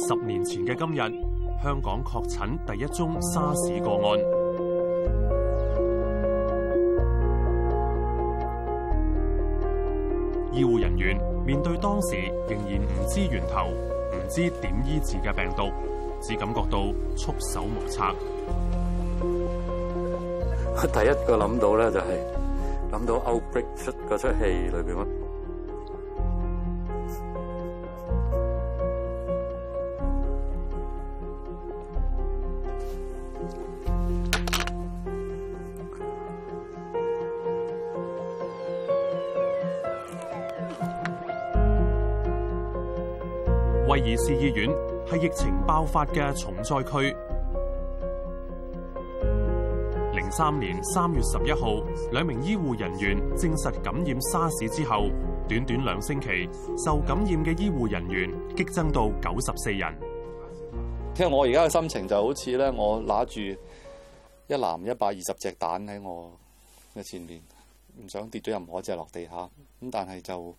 10年前嘅今日，香港確診第一宗沙士個案。醫護人員面對當時仍然唔知源頭、唔知點醫治嘅病毒，只感覺到束手無策。 第一個諗到咧就係諗到 outbreak 出嗰出戲裏邊咯。 威爾斯醫院係疫情爆發嘅重災區。03年3月11號，2名醫護人員證實感染沙士之後，短短2星期，受感染嘅醫護人員激增到94人。 其實我而家嘅心情就好似咧，我拿住一籃120隻蛋喺我嘅前面，唔想跌咗任何一隻落地下。咁但係就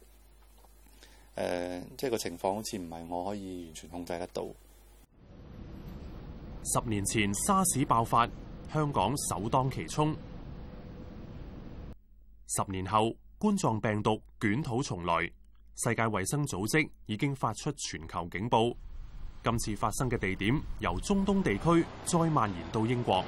即係個情況好似唔係我可以完全控制得到。 10年前沙士爆發，香港首當其衝。10年後，冠狀病毒捲土重來，世界衛生組織已經發出全球警報。今次發生嘅地點由中東地區再蔓延到英國。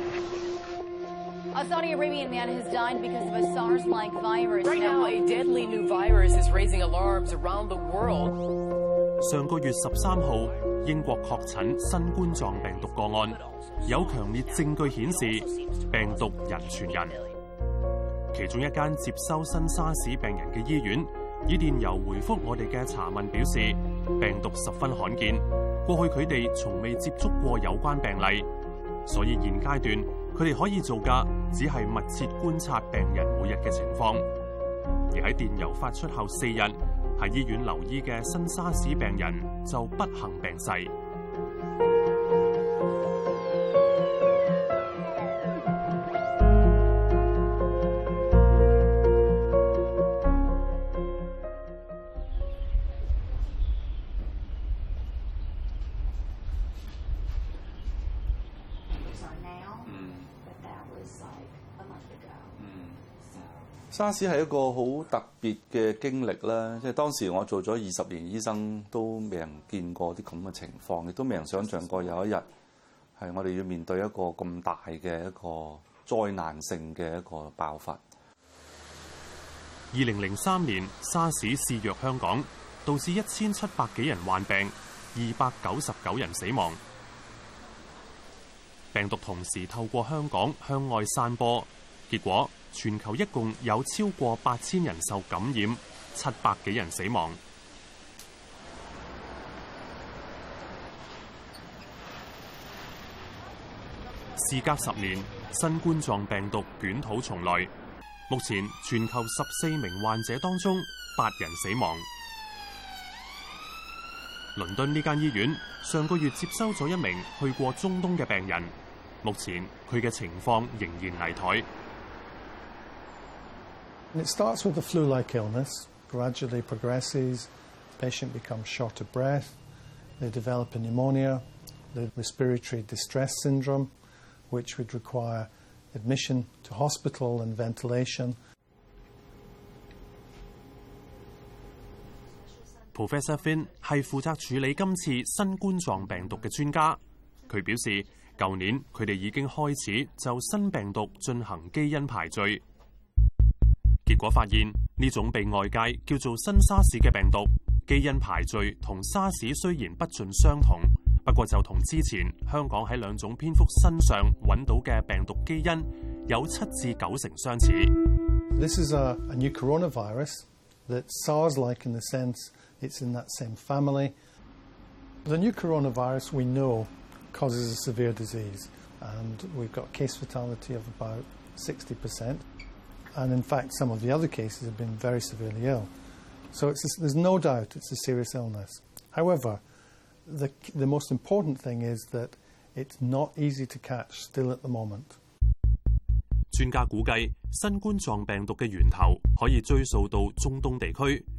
A Saudi Arabian man has died because of a SARS-like virus. Right now, a deadly new virus is raising alarms around the world. 上個月13號，英國確診新冠狀病毒個案，有強烈證據顯示病毒人傳人。其中一間接收新沙士病人嘅醫院，以電郵回覆我哋嘅查問表示，病毒十分罕見，過去佢哋從未接觸過有關病例，所以現階段佢哋可以做嘅只係密切觀察病人每日嘅情況。而喺電郵發出後4日，喺醫院留醫嘅新沙士病人就不幸病逝。 沙士係一個好特別嘅經歷啦，即係當時我做咗20年醫生，都未人見過啲咁嘅情況，亦都未人想像過有一日係我哋要面對一個咁大嘅一個災難性嘅一個爆發。 2003年，沙士肆虐香港，導致1700幾人患病，299人死亡。病毒同時透過香港向外散播，結果全球一共有超過8000人受感染，700幾人死亡。事隔10年，新冠狀病毒捲土重來。目前全球14名患者當中8人死亡。倫敦呢間醫院上個月接收咗1名去過中東嘅病人，目前佢嘅情況仍然危殆。 It starts with a flu-like illness, gradually progresses, the patient becomes short of breath, they develop a pneumonia, the respiratory distress syndrome, which would require admission to hospital and ventilation. Professor Finn 係負責處理今次新冠狀病毒嘅專家，佢表示，舊年佢哋已經開始就新病毒進行基因排序。結果發現呢種被外界叫做新沙士嘅病毒，基因排序同沙士雖然不盡相同，不過就同之前香港喺2種蝙蝠身上揾到嘅病毒基因有7至9成相似。 This is a new coronavirus that's SARS-like in the sense it's in that same family. The new coronavirus we know causes a severe disease, and we've got case fatality of about 60%. And in fact, some of the other cases have been very severely ill. So there's no doubt it's a serious illness. However, the most important thing is that it's not easy to catch still at the moment. 專家估計，新冠狀病毒嘅源頭可以追溯到中東地區。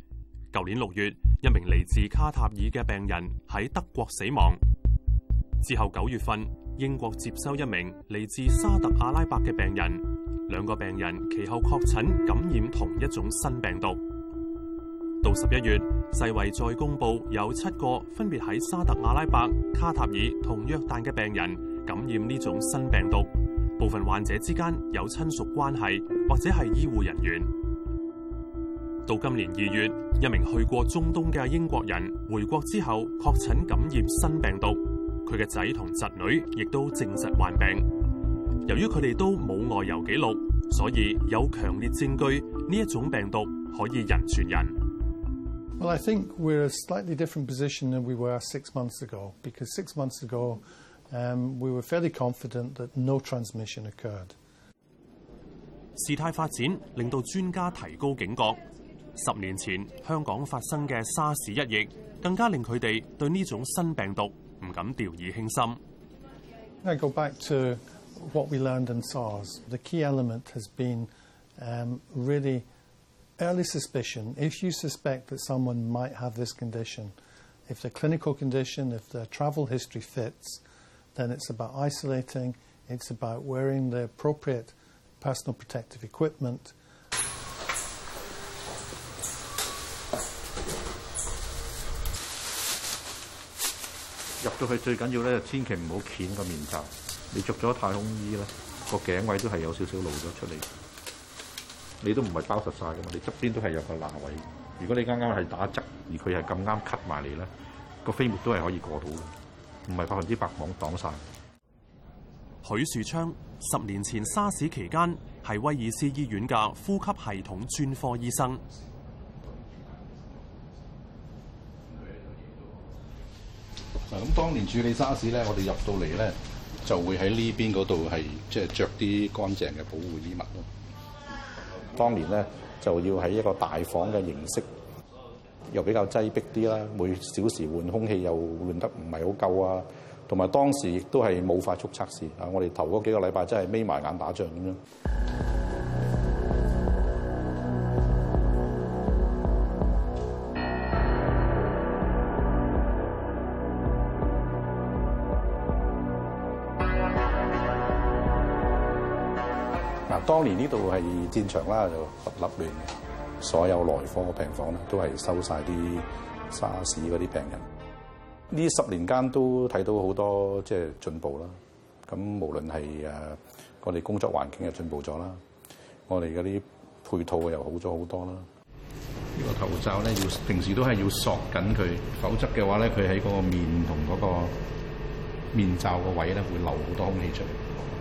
舊年6月，一名嚟自卡塔爾嘅病人喺德國死亡。之後9月份，英國接收一名嚟自沙特阿拉伯嘅病人，兩個病人其後確診感染同一種新病毒。到11月，世衛再公佈有7個分別喺沙特阿拉伯、卡塔爾同約旦嘅病人感染呢種新病毒，部分患者之間有親屬關係或者係醫護人員。到今年2月，一名去過中東嘅英國人回國之後確診感染新病毒，佢嘅仔同侄女亦都證實患病。由於佢哋都冇外遊記錄，所以有強烈證據呢一種病毒可以人傳人。 Well, I think we're in a slightly different position than we were 6 months ago, because 6 months ago we were fairly confident that no transmission occurred. 事態發展令到專家提高警覺。10年前香港發生嘅沙士一役，更加令佢哋對呢種新病毒唔敢掉以輕心。 I go back to what we learned in SARS. The key element has been really early suspicion. If you suspect that someone might have this condition, if the clinical condition, if the travel history fits, then it's about isolating, it's about wearing the appropriate personal protective equipment. 入到去最緊要咧，千祈唔好掀個面罩。你着咗太空衣咧，個頸位都係有少少露咗出嚟。你都唔係包實晒㗎嘛，你側邊都係有個罅位。如果你啱啱係打側，而佢係咁啱 cut 埋嚟咧，個飛沫都係可以過到嘅，唔係100%擋晒。 許樹昌10年前沙士期間係威爾斯醫院嘅呼吸系統專科醫生。 咁當年處理沙士咧，我哋入到嚟咧就會喺呢邊嗰度係即係著啲乾淨嘅保護衣物咯。當年咧就要喺一個大房嘅形式，又比較擠迫啲啦，每小時換空氣又換得唔係好夠啊，同埋當時亦都係冇快速測試啊！我哋頭嗰幾個禮拜真係眯埋眼打仗咁樣。當年呢度係戰場啦，就立亂嘅，所有內科病房咧都係收晒啲沙士嗰啲病人。呢10年間都睇到好多即係進步啦。咁無論係我哋工作環境又進步咗啦，我哋嗰啲配套又好咗好多啦。呢個頭罩咧要平時都係要索緊佢，否則嘅話咧佢喺嗰個面同嗰個面罩個位咧會流好多空氣出嚟。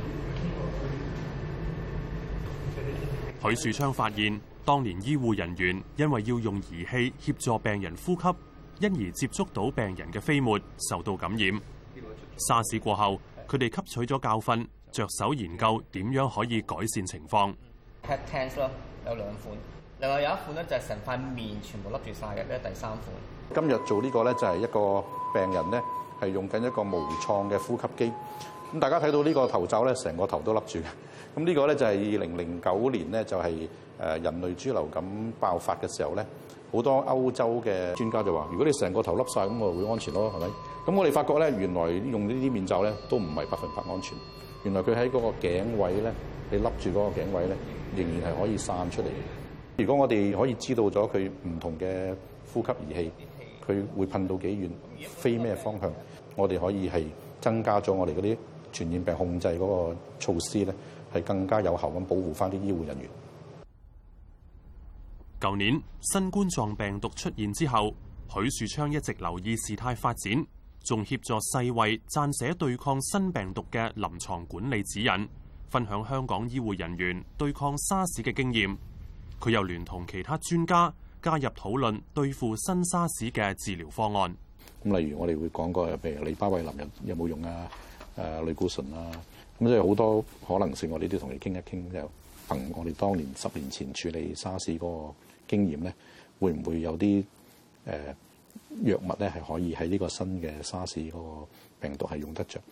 許樹昌發現，當年醫護人員因為要用儀器協助病人呼吸，因而接觸到病人嘅飛沫，受到感染。沙士過後，佢哋吸取咗教訓，着手研究點樣可以改善情況。 Head Tense 咯，有2款，另外有一款咧就係成塊面全部笠住晒嘅，呢第3款。 今日做呢個咧就係一個病人咧係用緊一個無創嘅呼吸機。咁大家睇到呢個頭罩咧，成個頭都笠住嘅。咁呢個咧就係2009年咧，就係人類豬流感爆發嘅時候咧，好多歐洲嘅專家就話：如果你成個頭笠晒，咁我會安全咯，係咪？咁我哋發覺咧，原來用呢啲面罩咧都唔係100%安全。原來佢喺嗰個頸位咧，你笠住嗰個頸位咧，仍然係可以散出嚟。如果我哋可以知道咗佢唔同嘅呼吸儀器，佢會噴到幾遠，飛咩方向，我哋可以係增加咗我哋嗰啲傳染病控制嗰個措施咧，係更加有效咁保護翻啲醫護人員。 舊年新冠狀病毒出現之後，許樹昌一直留意事態發展，仲協助世衛撰寫對抗新病毒嘅臨床管理指引，分享香港醫護人員對抗沙士嘅經驗。佢又聯同其他專家加入討論對付新沙士嘅治療方案。 咁例如我哋會講過，譬如利巴韋林有冇用啊？類固醇啊，咁即係好多可能性，我哋都同你傾一傾。就憑我哋當年10年前處理沙士嗰個經驗咧，會唔會有啲藥物咧係可以喺呢個新嘅沙士嗰個病毒係用得着？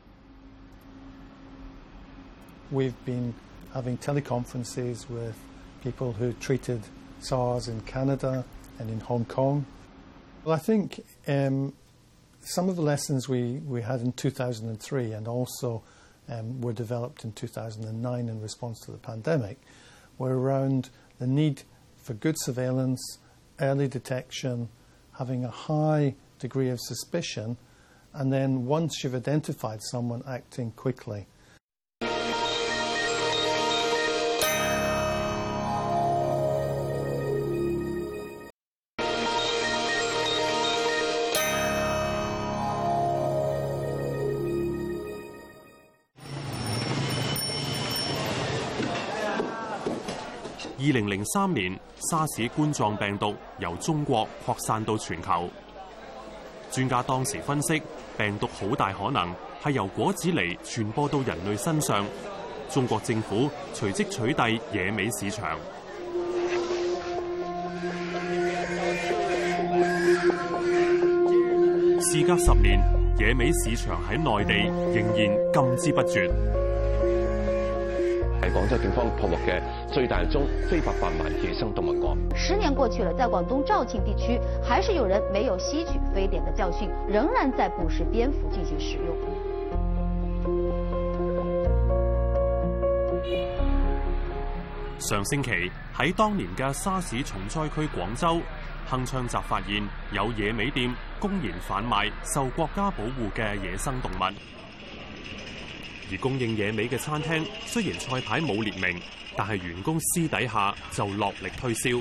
We've been having teleconferences with people who treated SARS in Canada, and in Hong Kong. Well, I think some of the lessons we had in 2003 and also were developed in 2009 in response to the pandemic were around the need for good surveillance, early detection, having a high degree of suspicion, and then once you've identified someone, acting quickly. 2003年，沙士冠狀病毒由中國擴散到全球。專家當時分析，病毒好大可能係由果子狸傳播到人類身上。中國政府隨即取締野味市場。事隔10年，野味市場喺內地仍然禁之不絕。 係廣州警方破獲嘅最大宗非法販賣野生動物案。 10年過去了，在廣東肇慶地區，還是有人沒有吸取非典的教訓，仍然在捕食蝙蝠進行食用。 上星期喺當年嘅沙士重災區廣州，鏗鏘集發現有野味店公然販賣受國家保護嘅野生動物。而供應野味嘅餐廳雖然菜牌冇列明，但係員工私底下就落力推銷。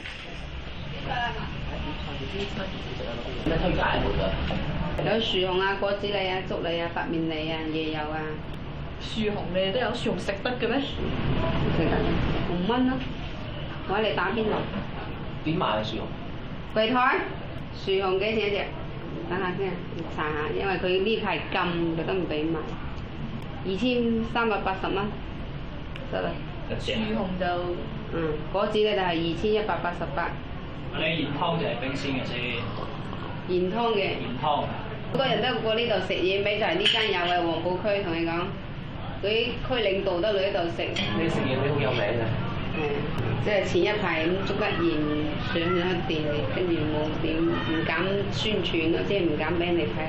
咩推介有樹熊啊、果子狸啊、竹狸啊、白面狸啊、椰油啊。樹熊你都有樹熊食得嘅咩？食得，5蚊咯。我嚟打邊爐。點賣啊樹熊？櫃台樹熊幾錢一隻？等下先，查下，因為佢呢排禁，佢都唔俾賣。2380蚊得啦。樹熊就果子咧就係2188。你鹽湯就係冰鮮嘅先。鹽湯嘅。鹽湯。好多人都過呢度食野味，就係呢間有嘅黃埔區，同你講，佢區領導都嚟呢度食。你食野味好有名嘅。即係前一排咁捉得鹽上咗電，跟住冇點唔敢宣傳咯，即係唔敢俾你睇。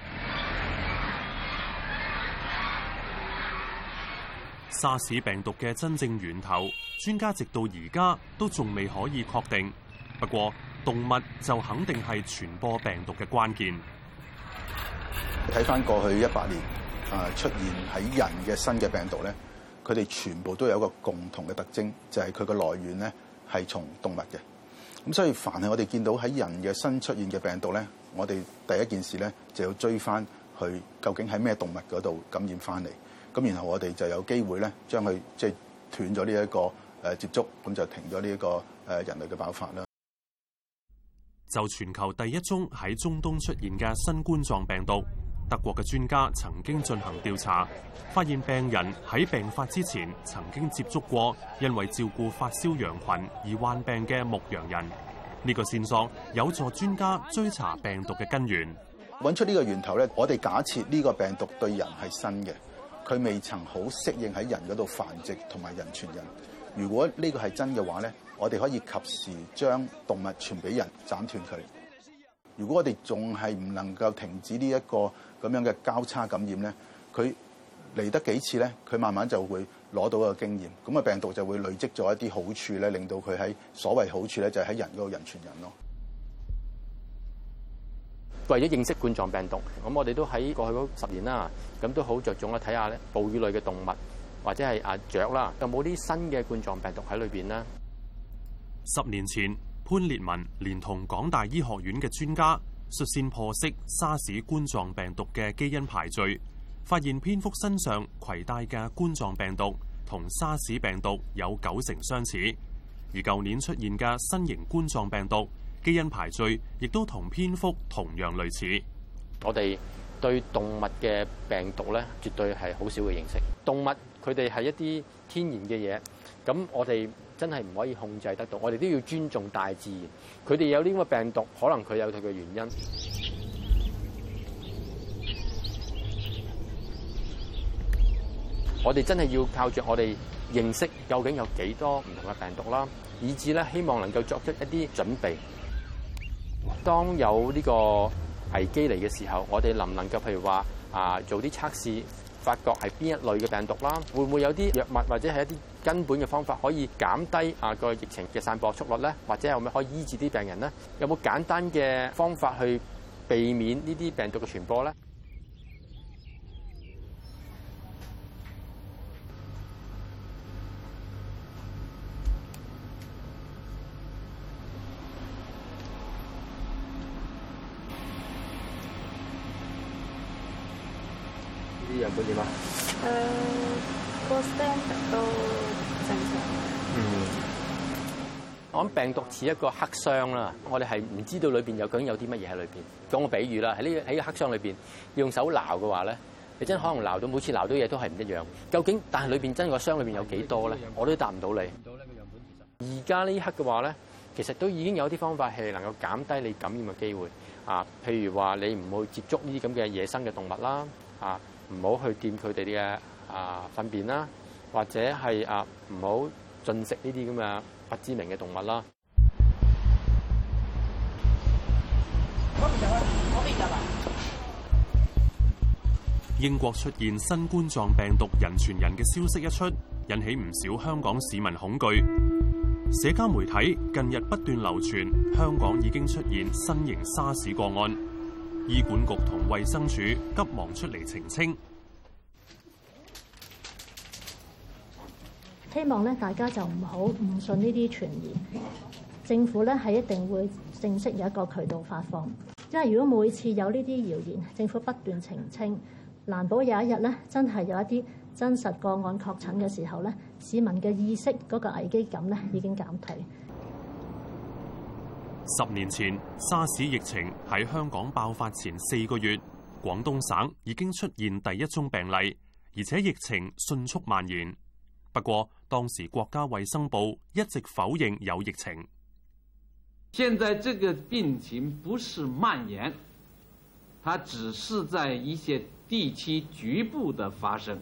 沙士病毒嘅真正源頭，專家直到而家都仲未可以確定。不過，動物就肯定係傳播病毒嘅關鍵。 睇翻過去100年，出現喺人嘅新嘅病毒咧，佢哋全部都有一個共同嘅特徵，就係佢嘅來源咧係從動物嘅。咁所以，凡係我哋見到喺人嘅新出現嘅病毒咧，我哋第一件事咧就要追翻去究竟喺咩動物嗰度感染翻嚟。咁然後我哋就有機會咧，將佢即係斷咗呢一個接觸，咁就停咗呢一個人類嘅爆發啦。 就全球第一宗喺中東出現嘅新冠狀病毒，德國嘅專家曾經進行調查，發現病人喺病發之前曾經接觸過因為照顧發燒羊群而患病嘅牧羊人。呢個線索有助專家追查病毒嘅根源。 揾出呢個源頭咧，我哋假設呢個病毒對人係新嘅。佢未曾好適應喺人嗰度繁殖同埋人傳人。如果呢個係真嘅話咧，我哋可以及時將動物傳俾人，斬斷佢。如果我哋仲係唔能夠停止呢一個咁樣嘅交叉感染咧，佢嚟得幾次咧，佢慢慢就會攞到個經驗，咁啊病毒就會累積咗一啲好處咧，令到佢喺所謂好處咧，就係喺人嗰度人傳人咯。 為咗認識冠狀病毒，咁我哋都喺過去嗰10年啦，咁都好着重咧睇下咧哺乳類嘅動物或者係雀啦，有冇啲新嘅冠狀病毒喺裏邊呢 ？10年前，潘烈文連同港大醫學院嘅專家率先破析沙士冠狀病毒嘅基因排序，發現蝙蝠身上攜帶嘅冠狀病毒同沙士病毒有90%相似，而舊年出現嘅新型冠狀病毒基因排序亦都同蝙蝠同樣類似。 我哋對動物嘅病毒咧，絕對係好少嘅認識。動物佢哋係一啲天然嘅嘢，咁我哋真係唔可以控制得到。我哋都要尊重大自然。佢哋有呢個病毒，可能佢有佢嘅原因。我哋真係要靠著我哋認識究竟有幾多唔同嘅病毒啦，以至咧希望能夠作出一啲準備。 當有呢個危機嚟嘅時候，我哋能唔能夠譬如話做啲測試，發覺係邊一類嘅病毒啦？會唔會有啲藥物或者係一啲根本嘅方法可以減低個疫情嘅散播速率咧？或者有冇可以醫治啲病人咧？有冇簡單嘅方法去避免呢啲病毒嘅傳播咧？啲樣本點啊？ 個 standard 都正常。 我諗病毒似一個黑箱啦，我哋係唔知道裏邊究竟有啲乜嘢喺裏邊。講個比喻啦，喺個黑箱裏邊，用手撈嘅話咧，你真可能撈到每次撈到嘢都係唔一樣。究竟但係裏邊真個箱裏邊有幾多咧？我都答唔到你。而家呢一刻嘅話咧，其實都已經有啲方法係能夠減低你感染嘅機會。譬如話你唔去接觸呢啲咁嘅野生嘅動物啦，唔好去掂佢哋嘅糞便啦，或者係唔好進食呢啲咁嘅不知名嘅動物啦。 英國出現新冠狀病毒人傳人嘅消息一出，引起唔少香港市民恐懼。社交媒體近日不斷流傳香港已經出現新型沙士個案，醫管局同衛生署急忙出嚟澄清。 希望咧大家就唔好誤信呢啲傳言，政府咧係一定會正式有一個渠道發放，因為如果每次有呢啲謠言，政府不斷澄清，難保有一日咧真係有一啲真實個案確診嘅時候咧，市民嘅意識嗰個危機感咧已經減退。 10年前，沙士疫情喺香港爆發前4個月，廣東省已經出現第一宗病例，而且疫情迅速蔓延。不過，當時國家衛生部一直否認有疫情。 現在這個病情不是蔓延，它只是在一些地區局部的發生。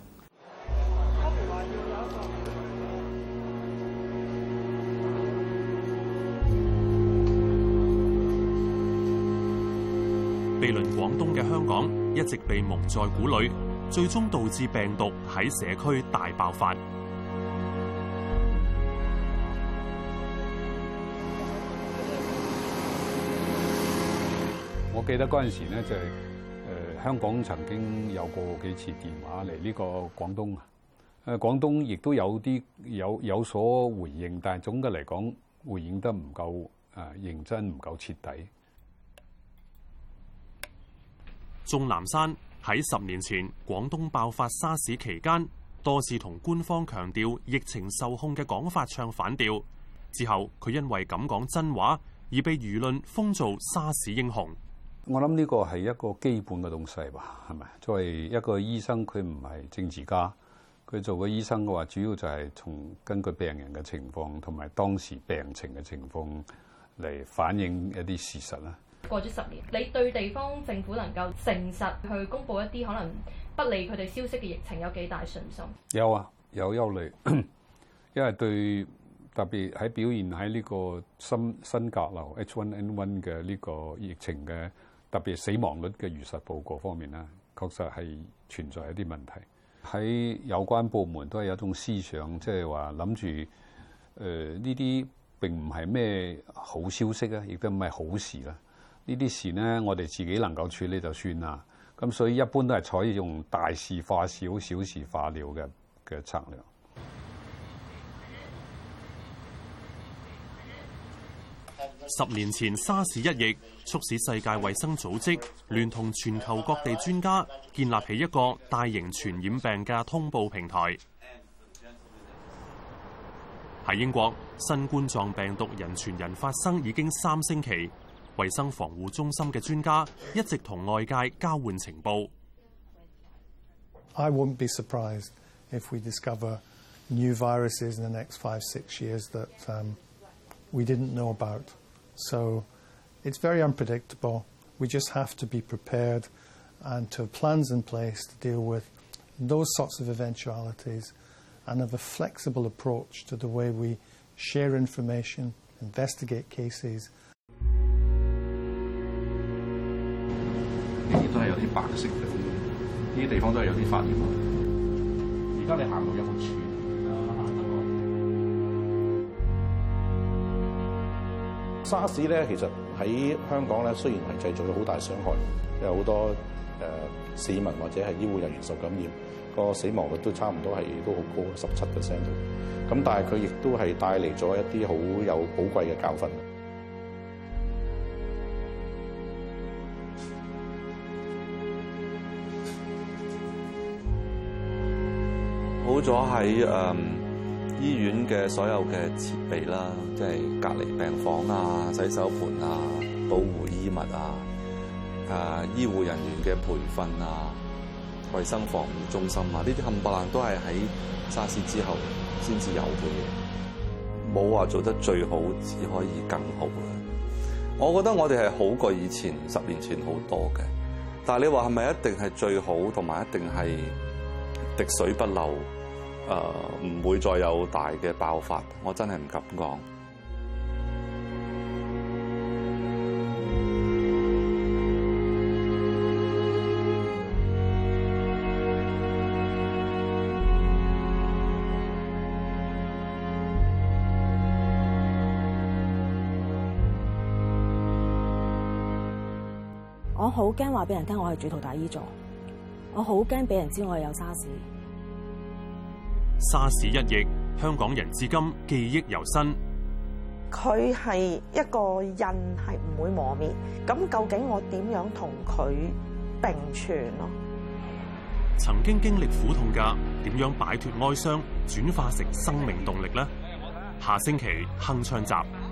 毗鄰廣東嘅香港一直被蒙在鼓裏，最終導致病毒喺社區大爆發。 我記得嗰陣時咧，就係香港曾經有過幾次電話嚟呢個廣東啊。廣東亦都有所回應，但係總嘅嚟講，回應得唔夠認真，唔夠徹底。 鍾南山喺10年前廣東爆發沙士期間，多次同官方強調疫情受控嘅講法唱反調。之後佢因為咁講真話，而被輿論封做沙士英雄。 我諗呢個係一個基本嘅東西吧，係咪？作為一個醫生，佢唔係政治家，佢做個醫生嘅話，主要就係根據病人嘅情況同埋當時病情嘅情況嚟反映一啲事實啦。 過咗10年，你對地方政府能夠誠實去公佈一啲可能不利佢哋消息嘅疫情有幾大信心？ 有啊，有憂慮，因為對特別喺表現喺呢個新甲流 H1N1 嘅呢個疫情嘅特別死亡率嘅如實報告方面咧，確實係存在一啲問題。喺有關部門都係有一種思想，即係話諗住呢啲並唔係咩好消息啊，亦都唔係好事啦。呢啲事呢，我哋自己能夠處理就算啦。咁所以一般都係採用大事化小、小事化了嘅策略。 10年前沙士一役，促使世界衛生組織聯同全球各地專家建立起一個大型傳染病嘅通報平台。喺英國，新冠狀病毒人傳人發生已經3星期。衛生防護中心嘅專家一直同外界交換情報。 I won't be surprised if we discover new viruses in the next 5-6 years that we didn't know about. So it's very unpredictable. We just have to be prepared and to have plans in place to deal with those sorts of eventualities and have a flexible approach to the way we share information, investigate cases. 呢啲都係有啲白色嘅，呢啲地方都係有啲發炎。而家你行路有冇喘？沙士咧，其實喺香港咧，雖然係製造咗好大傷害，有好多市民或者係醫護人員受感染，個死亡率都差唔多係都好高，17% 度。咁但係佢亦都係帶嚟咗一啲好有寶貴嘅教訓。 好咗喺醫院嘅所有嘅設備啦，即係隔離病房啊、洗手盆啊、保護衣物啊、醫護人員嘅培訓啊、衞生防護中心啊，呢啲冚唪唥都係喺沙士之後先至有嘅嘢，冇話做得最好，只可以更好啦。我覺得我哋係好過以前10年前好多嘅，但係你話係咪一定係最好，同埋一定係滴水不漏？唔會再有大嘅爆發，我真係唔敢講。 我好驚話俾人聽我係主圖大醫座，我好驚俾人知我係有沙士。 沙士一役，香港人至今記憶猶新。 佢係一個印，係唔會磨滅。咁究竟我點樣同佢並存咯？ 曾經經歷苦痛嘅，點樣擺脫哀傷，轉化成生命動力呢？下星期鏗鏘集。